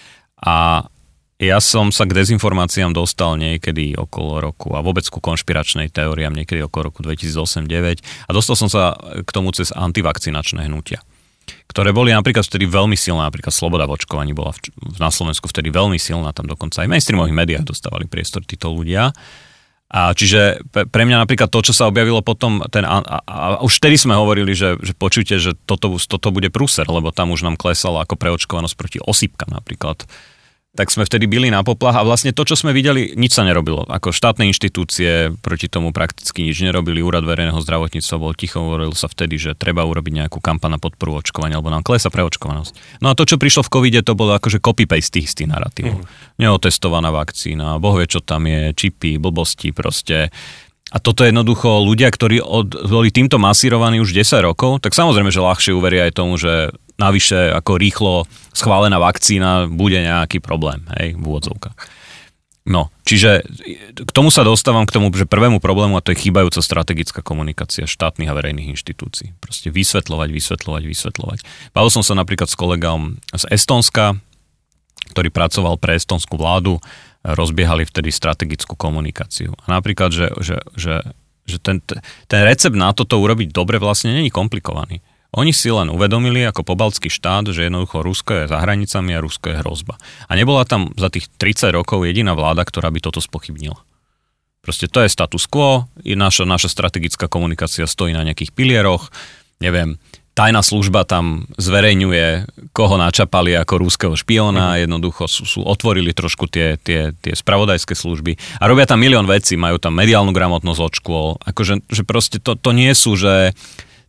S3: A ja som sa k dezinformáciám dostal niekedy okolo roku a vôbec ku konšpiračnej teóriám niekedy okolo roku dvetisícosem deväť a dostal som sa k tomu cez antivakcinačné hnutia, ktoré boli napríklad vtedy veľmi silné, napríklad sloboda v očkovaní bola v, na Slovensku vtedy veľmi silná, tam dokonca aj v mainstreamových médiách dostávali priestor títo ľudia. A čiže pre mňa napríklad to, čo sa objavilo potom, ten, a, a, a už vtedy sme hovorili, že, že počujte, že toto, toto bude prúser, lebo tam už nám klesala ako preočkovanosť proti osýpkam napríklad. Tak sme vtedy bili na poplach a vlastne to, čo sme videli, nič sa nerobilo. Ako štátne inštitúcie proti tomu prakticky nič nerobili. Úrad verejného zdravotníctva bol ticho, hovoril sa vtedy, že treba urobiť nejakú kampaň na podporu očkovania, alebo nám klesá preočkovanosť. No a to, čo prišlo v covide, to bolo akože copy-paste tých istých narratívov. Mm. Neotestovaná vakcína, boh vie, čo tam je, čipy, blbosti proste. A toto jednoducho ľudia, ktorí od, boli týmto masírovaní už desať rokov, tak samozrejme, že ľahšie uveria aj tomu, že navyše ako rýchlo schválená vakcína bude nejaký problém, hej, v úvodzovkách. No, čiže k tomu sa dostávam, k tomu, že prvému problému, a to je chýbajúca strategická komunikácia štátnych a verejných inštitúcií. Proste vysvetľovať, vysvetľovať, vysvetľovať. Bavil som sa napríklad s kolegom z Estónska, ktorý pracoval pre estónsku vládu, rozbiehali vtedy strategickú komunikáciu. A napríklad, že, že, že, že ten, ten recept na toto urobiť dobre vlastne není komplikovaný. Oni si len uvedomili ako pobaltský štát, že jednoducho Rusko je za hranicami a Rusko je hrozba. A nebola tam za tých tridsať rokov jediná vláda, ktorá by toto spochybnila. Proste to je status quo, naša, naša strategická komunikácia stojí na nejakých pilieroch, neviem, tajná služba tam zverejňuje, koho načapali ako ruského špióna, jednoducho sú, sú otvorili trošku tie, tie, tie spravodajské služby a robia tam milión vecí, majú tam mediálnu gramotnosť od škôl, akože že proste to, to nie sú, že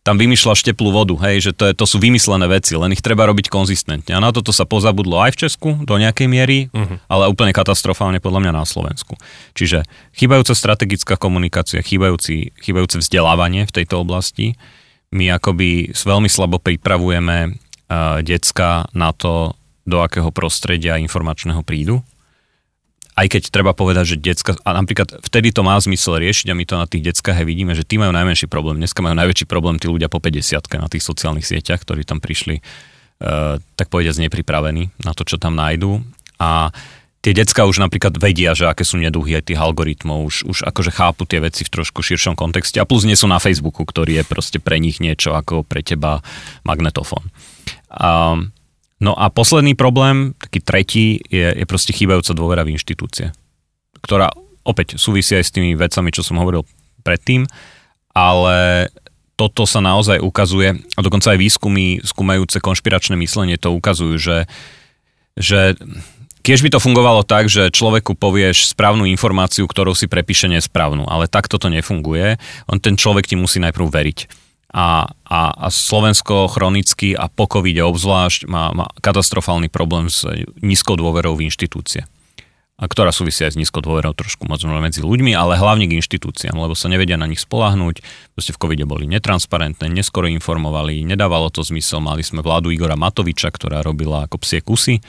S3: tam vymýšľaš teplú vodu, hej, že to, je, to sú vymyslené veci, len ich treba robiť konzistentne. A na toto sa pozabudlo aj v Česku do nejakej miery, uh-huh. ale úplne katastrofálne podľa mňa na Slovensku. Čiže chýbajúca strategická komunikácia, chýbajúci, chýbajúce vzdelávanie v tejto oblasti. My akoby veľmi slabo pripravujeme uh, decka na to, do akého prostredia informačného prídu. Aj keď treba povedať, že decka, a napríklad vtedy to má zmysel riešiť a my to na tých deckách aj vidíme, že tí majú najmenší problém. Dneska majú najväčší problém tí ľudia po päťdesiatke na tých sociálnych sieťach, ktorí tam prišli, uh, tak povediať, nepripravení na to, čo tam nájdú. A tie decka už napríklad vedia, že aké sú neduhy aj tých algoritmov, už, už akože chápu tie veci v trošku širšom kontexte a plus nie sú na Facebooku, ktorý je proste pre nich niečo ako pre teba magnetofón. Um, No a posledný problém, taký tretí, je, je proste chýbajúca dôvera v inštitúcie, ktorá opäť súvisí aj s tými vecami, čo som hovoril predtým, ale toto sa naozaj ukazuje, a dokonca aj výskumy skúmajúce konšpiračné myslenie to ukazujú, že, že keď by to fungovalo tak, že človeku povieš správnu informáciu, ktorou si prepíše nesprávnu, ale takto to nefunguje, on ten človek ti musí najprv veriť. A, a, a Slovensko chronicky a po covide obzvlášť má, má katastrofálny problém s nízkou dôverou v inštitúcie. A ktorá súvisí aj s nízkou dôverou trošku možno medzi ľuďmi, ale hlavne k inštitúciám, lebo sa nevedia na nich spoľahnúť. Proste v covide boli netransparentné, neskoro informovali, nedávalo to zmysel. Mali sme vládu Igora Matoviča, ktorá robila ako psie kusy.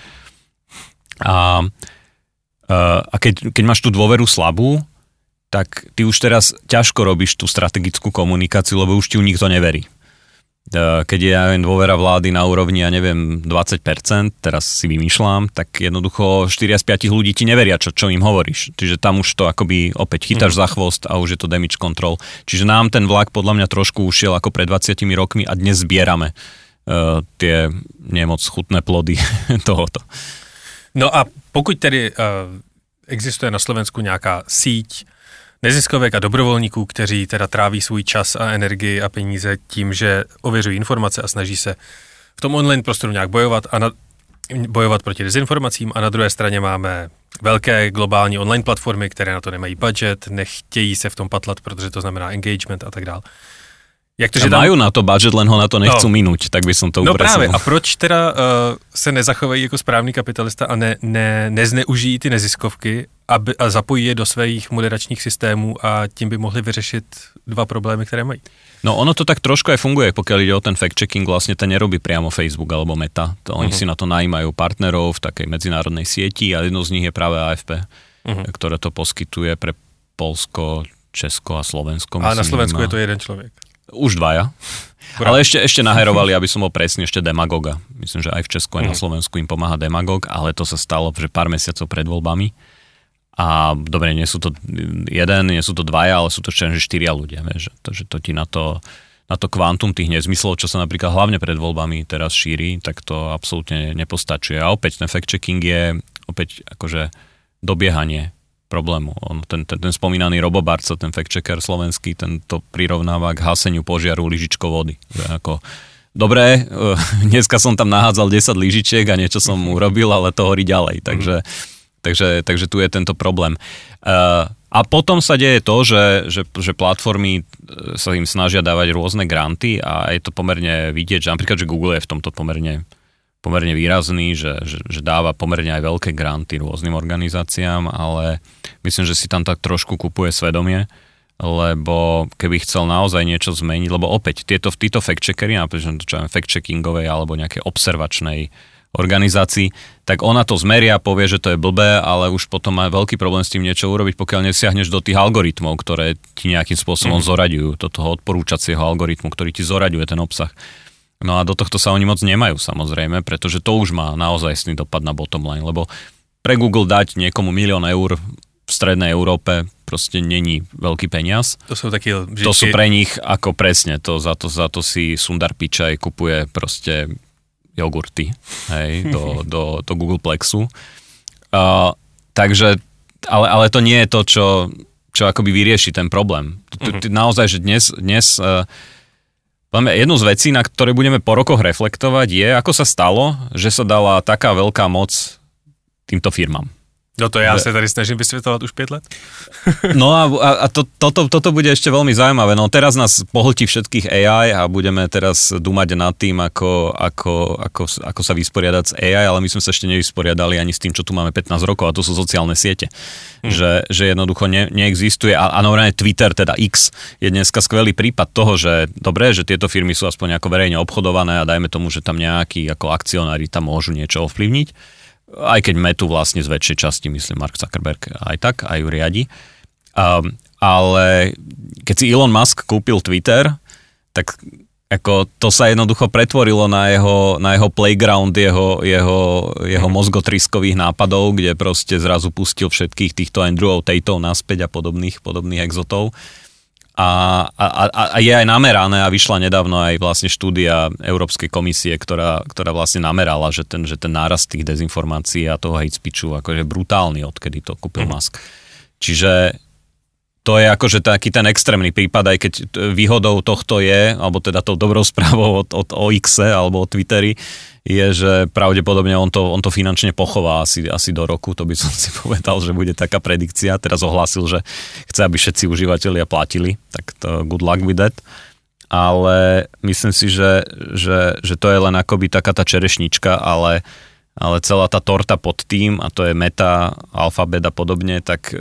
S3: A, a keď, keď máš tú dôveru slabú, tak ty už teraz ťažko robíš tú strategickú komunikáciu, lebo už ti ju nikto neverí. Keď je ja dôvera vlády na úrovni, ja neviem, dvadsať percent, teraz si vymýšľam, tak jednoducho štyri z piatich ľudí ti neveria, čo, čo im hovoríš. Čiže tam už to akoby opäť chytáš mm. za chvost a už je to damage control. Čiže nám ten vlak podľa mňa trošku ušiel ako pred dvadsiatimi rokmi a dnes zbierame uh, tie nemoc chutné plody tohoto.
S2: No a pokud tedy uh, existuje na Slovensku nějaká síť neziskovek a dobrovolníků, kteří teda tráví svůj čas a energii a peníze tím, že ověřují informace a snaží se v tom online prostoru nějak bojovat a na, bojovat proti dezinformacím, a na druhé straně máme velké globální online platformy, které na to nemají budget, nechtějí se v tom patlat, protože to znamená engagement a tak dále. Jak to, že tam... Majú
S3: na to budget, len ho na to nechcú no. minúť, tak by som to upresil.
S2: No právě, a proč teda uh, se nezachovají jako správný kapitalista a ne, ne, nezneužijí ty neziskovky aby, a zapojí je do svých moderačních systémů a tím by mohli vyřešit dva problémy, které mají?
S3: No ono to tak trošku aj funguje, pokiaľ ide o ten fact-checking, vlastne ten nerobí priamo Facebook alebo Meta. To oni uh-huh. si na to najímajú partnerov v takej medzinárodnej sieti a jednou z nich je práve á ef pé, uh-huh. ktoré to poskytuje pre Poľsko, Česko a Slovensko.
S2: A na Slovensku je to jeden človek.
S3: Už dvaja. Kurá. Ale ešte, ešte naherovali, aby som bol presný, ešte Demagoga. Myslím, že aj v Česku, aj mm. na Slovensku im pomáha Demagog, ale to sa stalo že pár mesiacov pred voľbami. A dobre, nie sú to jeden, nie sú to dvaja, ale sú to ešte štyria ľudia. Vieš, to, že to ti na to, na to kvantum tých nezmyslov, čo sa napríklad hlavne pred voľbami teraz šíri, tak to absolútne nepostačuje. A opäť ten fact-checking je opäť akože dobiehanie problému. On, ten, ten, ten spomínaný Robo Barca, ten fact-checker slovenský, ten to prirovnáva k haseniu požiaru lyžičkou vody. Že ako, dobre, dneska som tam nahádzal desať lyžičiek a niečo som urobil, ale to horí ďalej. Takže, mm. takže, takže tu je tento problém. Uh, a potom sa deje to, že, že, že platformy sa im snažia dávať rôzne granty a je to pomerne vidieť, že napríklad, že Google je v tomto pomerne pomerne výrazný, že, že, že dáva pomerne aj veľké granty rôznym organizáciám, ale myslím, že si tam tak trošku kupuje svedomie, lebo keby chcel naozaj niečo zmeniť, lebo opäť tieto, títo fact-checkery, napríklad čo fact-checkingovej alebo nejakej observačnej organizácii, tak ona to zmeria, povie, že to je blbé, ale už potom má veľký problém s tým niečo urobiť, pokiaľ nesiahneš do tých algoritmov, ktoré ti nejakým spôsobom mm. zoraďujú, do toho odporúčacieho algoritmu, ktorý ti zoraďuje ten obsah. No a do tohto sa oni moc nemajú samozrejme, pretože to už má naozajstný dopad na bottom line, lebo pre Google dať niekomu milión eur v strednej Európe proste není veľký peniaz.
S2: To sú takí lžičky.
S3: To sú pre nich ako presne, to, za, to, za to si Sundar Pichai kupuje proste jogurty, hej, do, do, do Google Plexu. Uh, takže, ale, ale to nie je to, čo, čo akoby vyrieši ten problém. Mm-hmm. Naozaj, že dnes, dnes uh, jednu z vecí, na ktoré budeme po rokoch reflektovať, je, ako sa stalo, že sa dala taká veľká moc týmto firmám.
S2: No to ja sa tady snažím vysvetľovať už päť let.
S3: No a, a to, toto, toto bude ešte veľmi zaujímavé. No teraz nás pohltí všetkých á í a budeme teraz dúmať nad tým, ako, ako, ako, ako sa vysporiadať s á í, ale my sme sa ešte nevysporiadali ani s tým, čo tu máme pätnásť rokov, a to sú sociálne siete. Hmm. Že, že jednoducho ne, neexistuje. A, a normálne Twitter, teda X, je dneska skvelý prípad toho, že dobre, že tieto firmy sú aspoň ako verejne obchodované a dajme tomu, že tam nejakí ako akcionári tam môžu niečo ovplyvniť. Aj keď Metu vlastne z väčšej časti, myslím, Mark Zuckerberg aj tak, aj ju riadi. Um, ale keď si Elon Musk kúpil Twitter, tak ako to sa jednoducho pretvorilo na jeho, na jeho playground, jeho, jeho, jeho mozgotriskových nápadov, kde proste zrazu pustil všetkých týchto Andrewov Tateov naspäť a podobných, podobných exotov. A, a, a je aj namerané a vyšla nedávno aj vlastne štúdia Európskej komisie, ktorá, ktorá vlastne namerala, že ten, že ten nárast tých dezinformácií a toho hate speechu akože brutálny, odkedy to kúpil mm. Musk. Čiže to je akože taký ten extrémny prípad, aj keď výhodou tohto je, alebo teda tou dobrou správou od, od ó iks alebo od Twitteri, je, že pravdepodobne on to, on to finančne pochová asi, asi do roku, to by som si povedal, že bude taká predikcia. Teraz ohlásil, že chce, aby všetci užívateľia platili, tak to good luck with that. Ale myslím si, že, že, že to je len akoby taká tá čerešnička, ale, ale celá tá torta pod tým, a to je Meta, Alphabet a podobne, tak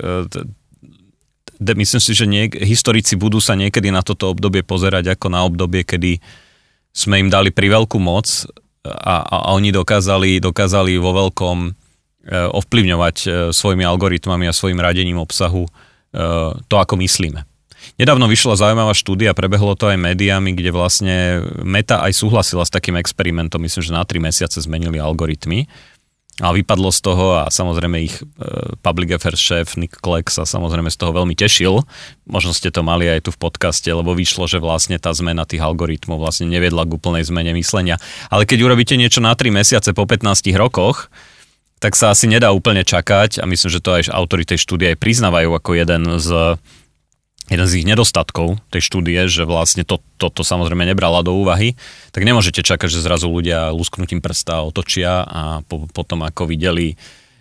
S3: de, myslím si, že niek- historici budú sa niekedy na toto obdobie pozerať ako na obdobie, kedy sme im dali priveľkú moc a, a oni dokázali, dokázali vo veľkom e, ovplyvňovať e, svojimi algoritmami a svojim radením obsahu e, to, ako myslíme. Nedávno vyšla zaujímavá štúdia, prebehlo to aj médiami, kde vlastne Meta aj súhlasila s takým experimentom, myslím, že na tri mesiace zmenili algoritmy. A vypadlo z toho a samozrejme ich public affairs šéf Nick Clegg sa samozrejme z toho veľmi tešil. Možno ste to mali aj tu v podcaste, lebo vyšlo, že vlastne tá zmena tých algoritmov vlastne neviedla k úplnej zmene myslenia. Ale keď urobíte niečo na tri mesiace po pätnástich rokoch, tak sa asi nedá úplne čakať a myslím, že to aj autori tej štúdie aj priznávajú ako jeden z jeden z ich nedostatkov tej štúdie, že vlastne to, toto to samozrejme nebrala do úvahy, tak nemôžete čakať, že zrazu ľudia lusknutím prsta otočia a po, potom ako videli e,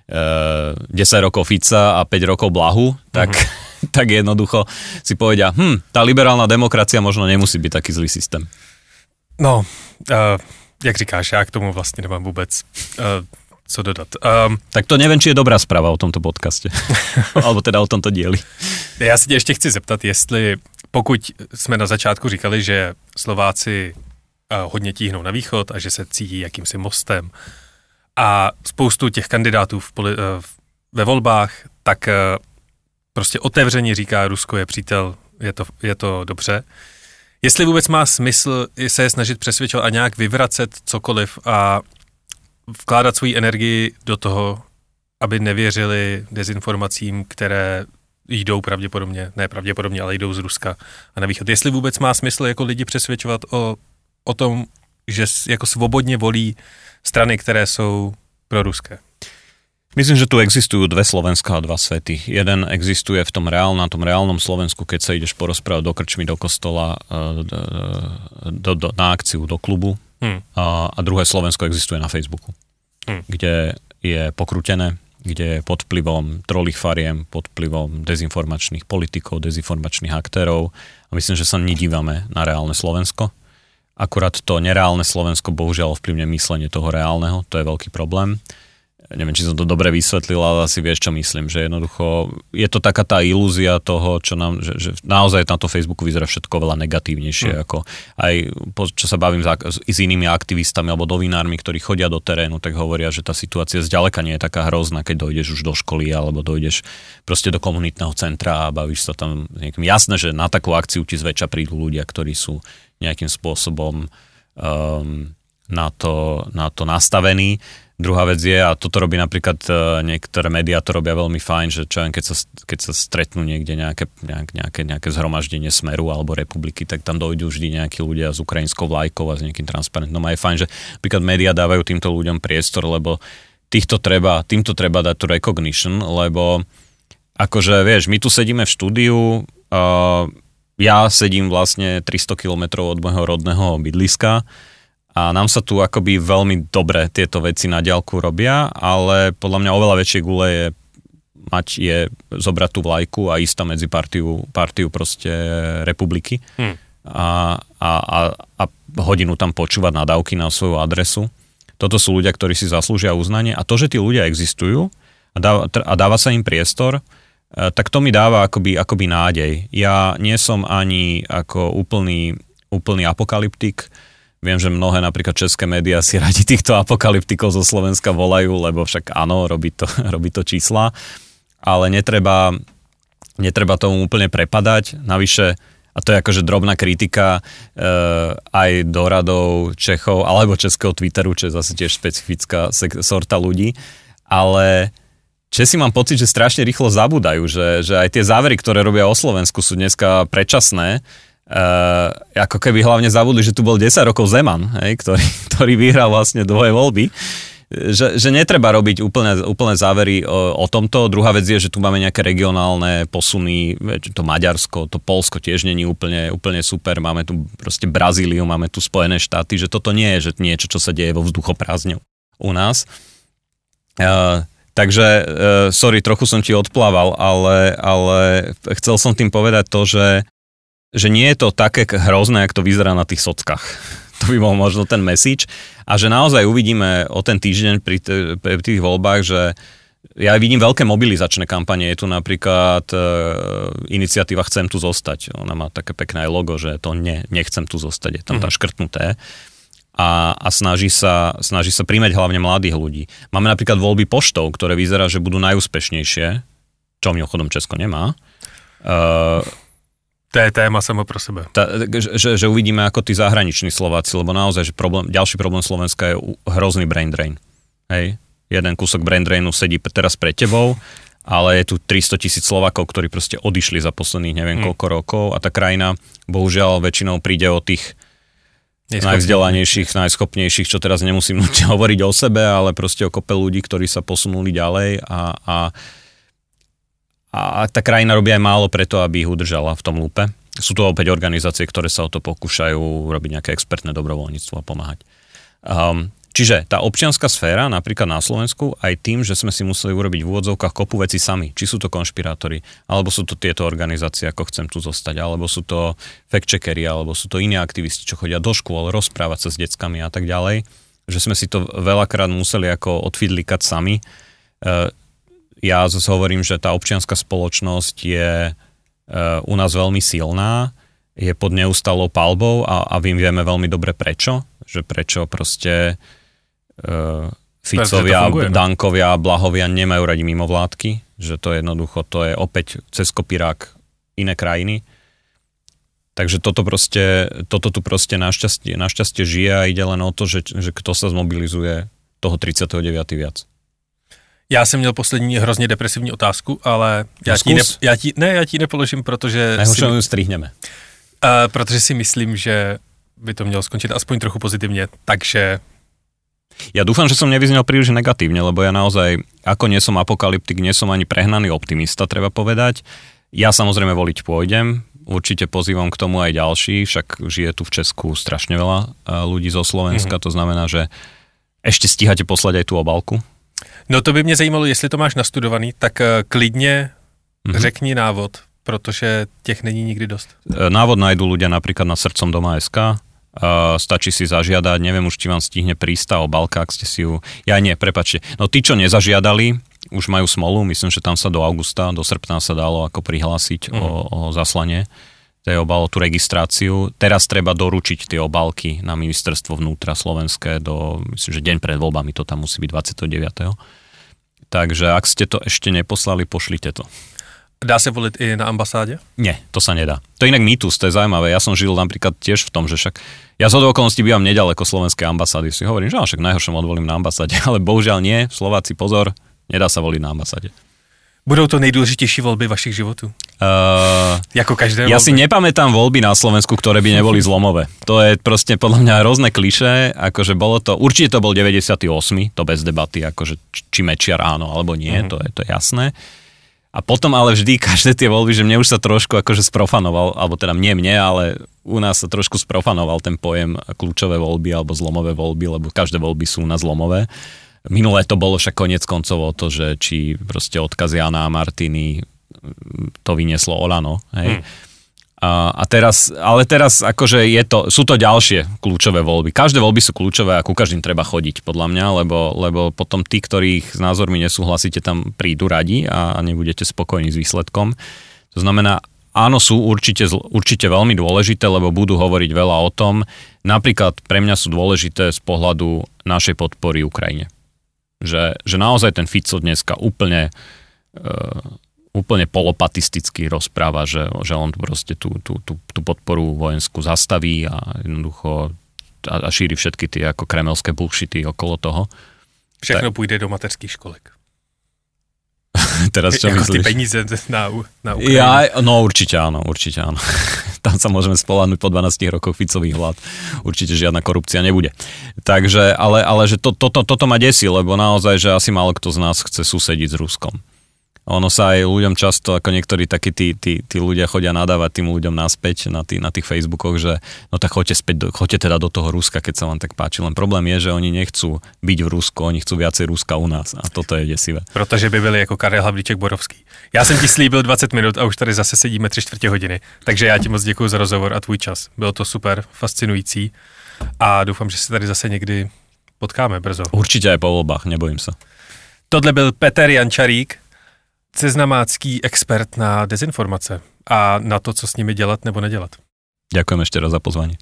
S3: desať rokov Fica a päť rokov Blahu, tak, uh-huh. tak jednoducho si povedia, hm, tá liberálna demokracia možno nemusí byť taký zlý systém.
S2: No, uh, jak říkáš, já k tomu vlastně nemám vůbec uh, co dodat. Um,
S3: tak to neviem, či je dobrá správa o tomto podcaste. Alebo teda o tomto dieli.
S2: Já se tě ještě chci zeptat, jestli pokud jsme na začátku říkali, že Slováci uh, hodně tíhnou na východ a že se cítí jakýmsi mostem a spoustu těch kandidátů v poli, uh, ve volbách, tak uh, prostě otevřeně říká, Rusko je přítel, je to, je to dobře. Jestli vůbec má smysl se je snažit přesvědčovat a nějak vyvracet cokoliv a vkládat svou energii do toho, aby nevěřili dezinformacím, které jdou pravděpodobně, ne pravděpodobně, ale jdou z Ruska a na východ. Jestli vůbec má smysl jako lidi přesvědčovat o, o tom, že jako svobodně volí strany, které jsou proruské.
S3: Myslím, že tu existujú dve Slovenska a dva svety. Jeden existuje v tom reál, na tom reálnom Slovensku, keď sa ideš porozprávať do krčmy, do kostola, do, do, na akciu, do klubu. Hmm. A, a druhé Slovensko existuje na Facebooku, hmm. kde je pokrútené, kde je pod vplyvom trolých fariem, pod vplyvom dezinformačných politikov, dezinformačných aktérov. A myslím, že sa nedívame na reálne Slovensko. Akurát to nereálne Slovensko bohužiaľ ovplyvňuje myslenie toho reálneho, to je veľký problém. Neviem, či som to dobre vysvetlil, ale asi vieš, čo myslím, že jednoducho je to taká tá ilúzia toho, čo nám, že, že naozaj na to Facebooku vyzerá všetko veľa negatívnejšie, mm. ako aj čo sa bavím s, s inými aktivistami alebo novinármi, ktorí chodia do terénu, tak hovoria, že tá situácia zďaleka nie je taká hrozná, keď dojdeš už do školy alebo dojdeš proste do komunitného centra a bavíš sa tam niekým. Jasné, že na takú akciu ti zväčša prídu ľudia, ktorí sú nejakým spôsobom um, na, to, na to nastavení. Druhá vec je, a toto robí napríklad niektoré médiá, to robia veľmi fajn, že čo len keď sa, keď sa stretnú niekde nejaké, nejaké, nejaké zhromaždenie Smeru alebo Republiky, tak tam dojdú vždy nejakí ľudia s ukrajinskou vlajkou a s nejakým transparentom. A je fajn, že napríklad médiá dávajú týmto ľuďom priestor, lebo týchto treba, týmto treba dať tu recognition, lebo akože vieš, my tu sedíme v štúdiu, uh, ja sedím vlastne tristo kilometrov od môjho rodného bydliska, a nám sa tu akoby veľmi dobre tieto veci na diaľku robia, ale podľa mňa oveľa väčšie gule je mať je zobrať tú vlajku a ísť tam medzi partiu, partiu proste republiky hmm. a, a, a, a hodinu tam počúvať nadávky na svoju adresu. Toto sú ľudia, ktorí si zaslúžia uznanie a to, že tí ľudia existujú a dáva, a dáva sa im priestor, tak to mi dáva akoby, akoby nádej. Ja nie som ani ako úplný, úplný apokalyptik. Viem, že mnohé napríklad české médiá si radi týchto apokalyptikov zo Slovenska volajú, lebo však áno, robí to, robí to čísla, ale netreba, netreba tomu úplne prepadať. Navyše, a to je akože drobná kritika e, aj do radov Čechov, alebo českého Twitteru, čo je zase tiež špecifická sorta ľudí, ale Česi mám pocit, že strašne rýchlo zabúdajú, že, že aj tie závery, ktoré robia o Slovensku, sú dneska predčasné. E, ako keby hlavne zabudli, že tu bol desať rokov Zeman, hej, ktorý, ktorý vyhral vlastne dvoje voľby. Že, že netreba robiť úplne, úplne závery o, o tomto. Druhá vec je, že tu máme nejaké regionálne posuny, to Maďarsko, to Poľsko tiež není úplne, úplne super. Máme tu proste Brazíliu, máme tu Spojené štáty, že toto nie je že niečo, čo sa deje vo vzduchoprázdne u nás. E, Takže, uh, sorry, trochu som ti odplával, ale, ale chcel som tým povedať to, že, že nie je to také hrozné, ako to vyzerá na tých sockách. To by bol možno ten message. A že naozaj uvidíme o ten týždeň pri, t- pri tých voľbách, že ja vidím veľké mobilizačné kampanie. Je tu napríklad uh, iniciatíva Chcem tu zostať. Ona má také pekné logo, že to ne, nechcem tu zostať. Je tam tá škrtnuté. A, a snaží sa, snaží sa príjmať hlavne mladých ľudí. Máme napríklad voľby poštou, ktoré vyzerá, že budú najúspešnejšie, čo mimochodom Česko nemá. Uh,
S2: to je téma samo pro sebe.
S3: Ta, že, že uvidíme ako tí zahraniční Slováci, lebo naozaj, že problém, ďalší problém Slovenska je hrozný brain drain. Hej? Jeden kúsok brain drainu sedí teraz pred tebou, ale je tu tristotisíc Slovákov, ktorí proste odišli za posledných neviem koľko mm. rokov a tá krajina bohužiaľ väčšinou príde o tých najvzdelanejších, najschopnejších, čo teraz nemusím nutne hovoriť o sebe, ale proste o kope ľudí, ktorí sa posunuli ďalej a, a, a tá krajina robí aj málo preto, aby ich udržala v tom lúpe. Sú to opäť organizácie, ktoré sa o to pokúšajú robiť nejaké expertné dobrovoľníctvo a pomáhať. Um, čiže tá občianská sféra, napríklad na Slovensku, aj tým, že sme si museli urobiť v úvodzovkách kopu veci sami. Či sú to konšpirátori, alebo sú to tieto organizácie, ako Chcem tu zostať, alebo sú to fact-checkeri, alebo sú to iní aktivisti, čo chodia do škôl, rozprávať sa s deckami a tak ďalej. Že sme si to veľakrát museli ako odfidlikať sami. Ja zase hovorím, že tá občianská spoločnosť je u nás veľmi silná, je pod neustálou palbou a, a vy vieme veľmi dobre prečo. Že prečo proste Uh, Ficovia, funguje, Dankovia, Blahovia nemajú radi mimovládky, že to jednoducho, to je opäť cez kopírák iné krajiny. Takže toto proste, toto tu proste našťastie, našťastie žije a ide len o to, že, že kto sa zmobilizuje toho tridsiateho deviateho viac.
S2: Já jsem měl poslední hrozně depresivní otázku, ale já no ti, ne, já ti, ne, já ti nepoložím, protože...
S3: Najhoršie ju strihneme.
S2: Uh, protože si myslím, že by to mělo skončit aspoň trochu pozitivně, takže...
S3: Ja dúfam, že som nevyznel príliš negatívne, lebo ja naozaj, ako nie som apokalyptik, nie som ani prehnaný optimista, treba povedať. Ja samozrejme voliť pôjdem, určite pozývam k tomu aj ďalší, však žije tu v Česku strašne veľa ľudí zo Slovenska, mm-hmm. to znamená, že ešte stíhate poslať aj tú obálku?
S2: No to by mě zajímalo, jestli to máš nastudovaný, tak klidně mm-hmm. řekni návod, protože těch není nikdy dost.
S3: Návod nájdú ľudia napríklad na srdcom doma bodka es ká. Uh, stačí si zažiadať, neviem už, či vám stihne prísť tá obálka, ak ste si ju... Ja nie, prepáčte. No tí, čo nezažiadali, už majú smolu, myslím, že tam sa do augusta, do srpna sa dalo ako prihlásiť mm. o, o zaslanie tej obál, tú registráciu. Teraz treba doručiť tie obálky na ministerstvo vnútra slovenské do, myslím, že deň pred voľbami to tam musí byť dvadsiateho deviateho Takže ak ste to ešte neposlali, pošlite to.
S2: Dá sa voliť i na ambasádě?
S3: Nie, to sa nedá. To je inak mýtus, to je zaujímavé. Ja som žil napríklad tiež v tom, že však ja z okolností bývam nedaleko slovenskej ambasády. Si hovorím, že však najhoršom odvolím na ambasáde, ale bohužiaľ nie. Slováci, pozor, nedá sa voliť na ambasáde.
S2: Budou to nejdôležitejšie voľby vašich životů? Uh, jako každé
S3: ja
S2: voľby?
S3: si nepamätám voľby na Slovensku, ktoré by neboli zlomové. To je proste podľa mňa hrozné klišé, akože bolo to, určite to bol deväťdesiaty ôsmy to bez debaty, akože či Mečiar áno, alebo nie, uh-huh. to je to je jasné. A potom ale vždy každé tie voľby, že mne už sa trošku akože sprofanoval, alebo teda nie mne, ale u nás sa trošku sprofanoval ten pojem kľúčové voľby alebo zlomové voľby, lebo každé voľby sú na zlomové. Minulé to bolo však koniec koncov o to, že či proste odkaz Jana a Martiny to vynieslo Olano, hej. Hmm. A, a teraz, ale teraz akože je to, sú to ďalšie kľúčové voľby. Každé voľby sú kľúčové a ku každým treba chodiť, podľa mňa, lebo, lebo potom tí, ktorých s názormi nesúhlasíte, tam prídu radi a nebudete spokojní s výsledkom. To znamená, áno, sú určite, určite veľmi dôležité, lebo budú hovoriť veľa o tom. Napríklad pre mňa sú dôležité z pohľadu našej podpory Ukrajine. Že, že naozaj ten Fico dneska úplne... Uh, úplne polopatisticky rozpráva, že, že on proste tú, tú, tú, tú podporu vojenskú zastaví a jednoducho a, a šíri všetky tie ako kremelské bullshity okolo toho.
S2: Všechno tak půjde do mateřských školek.
S3: Teraz čo
S2: jako
S3: myslíš?
S2: Ty peníze na, na Ukrajinu.
S3: Ja, no určite áno, určite áno. Tam sa môžeme spoľahnúť po dvanástich rokoch Ficových vlád. Určite žiadna korupcia nebude. Takže, ale, ale že to, to, to, toto ma desí, lebo naozaj, že asi málo kto z nás chce susediť s Ruskom. Ono sa aj ľuďom často, ako niektorí takí tí, tí, tí ľudia chodia nadávať tým ľuďom naspäť na, tý, na tých Facebookoch, že no tak choďte späť, do, choďte teda do toho Ruska, keď sa vám tak páči. Len problém je, že oni nechcú byť v Rusku, oni chcú viacej Ruska u nás a toto je desivé.
S2: Protože by byli jako Karel Havlíček Borovský. Já jsem ti slíbil dvacet minut a už tady zase sedíme tři čtvrtě hodiny. Takže já ti moc děkuji za rozhovor a tvůj čas. Bylo to super, fascinující a doufám, že se tady zase někdy potkáme brzo.
S3: Určite aj po voľbách, nebojím sa.
S2: Tohle byl Peter Jančarík, seznamácký expert na dezinformace a na to, co s nimi dělat nebo nedělat.
S3: Ďakujem ešte raz za pozvanie.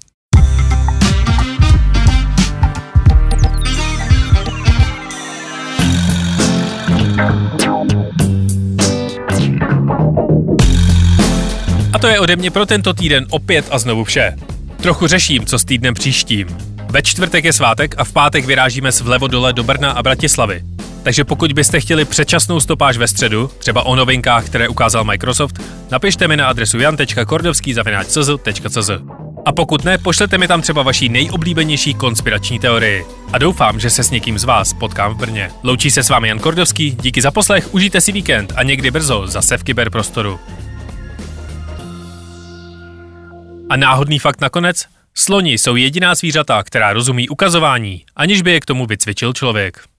S2: A to je ode mě pro tento týden opět a znovu vše. Trochu řeším, co s týdnem příštím. Ve čtvrtek je svátek a v pátek vyrážíme z vlevo dole do Brna a Bratislavy. Takže pokud byste chtěli předčasnou stopáž ve středu, třeba o novinkách, které ukázal Microsoft, napište mi na adresu jan tečka kordovský zavináč c z tečka c z. A pokud ne, pošlete mi tam třeba vaší nejoblíbenější konspirační teorii. A doufám, že se s někým z vás potkám v Brně. Loučí se s vámi Jan Kordovský, díky za poslech, užijte si víkend a někdy brzo zase v kyberprostoru. A náhodný fakt nakonec? Sloni jsou jediná zvířata, která rozumí ukazování, aniž by je k tomu vycvičil člověk.